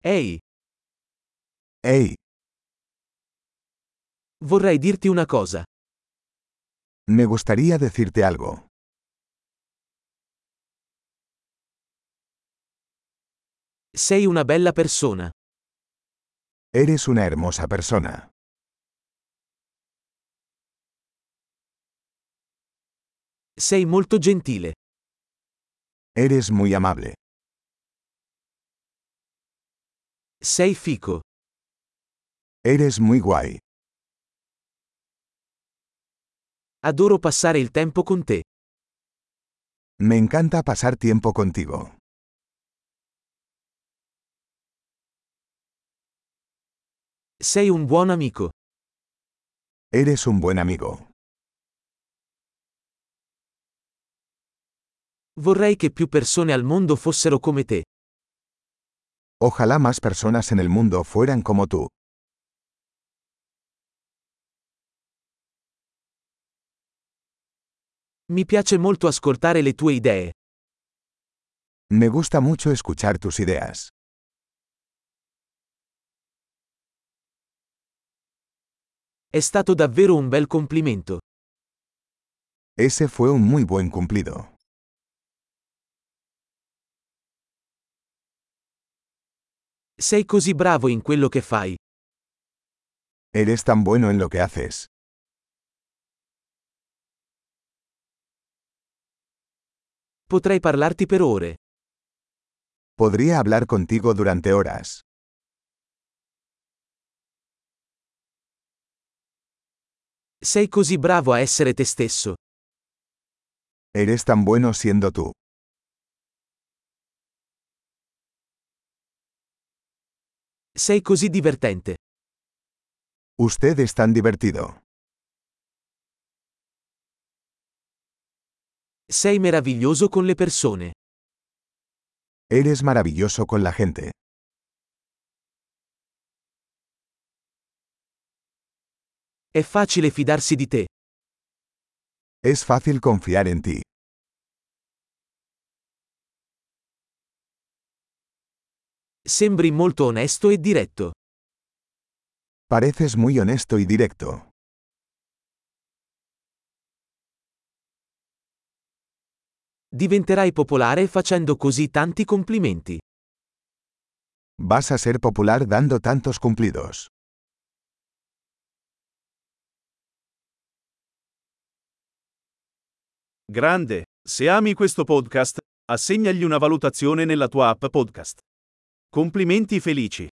Ehi, Hey, vorrei dirti una cosa. me gustaría decirte algo. Sei una bella persona. Eres una hermosa persona. Sei molto gentile. Eres muy amable. Sei fico. Eres muy guay. Adoro passare il tempo con te. Me encanta pasar tiempo contigo. Sei un buon amico. Eres un buen amigo. Vorrei che più persone al mondo fossero come te. Ojalá más personas en el mundo fueran como tú. Mi piace molto ascoltare le tue idee. Me gusta mucho escuchar tus ideas. È stato davvero un bel complimento. Ese fue un muy buen cumplido. Sei così bravo in quello che fai. Eres tan bueno en lo que haces. Potrei parlarti per ore. Podría hablar contigo durante horas. Sei così bravo a essere te stesso. Eres tan bueno siendo tú. Sei così divertente. Usted es tan divertido. Sei meraviglioso con le persone. Eres maravilloso con la gente. È facile fidarsi di te. Es fácil confiar en ti. Sembri molto onesto e diretto. Pareces muy honesto y directo. Diventerai popolare facendo così tanti complimenti. Vas a ser popular dando tantos cumplidos. Grande, se ami questo podcast, assegnagli una valutazione nella tua app podcast. Complimenti felici.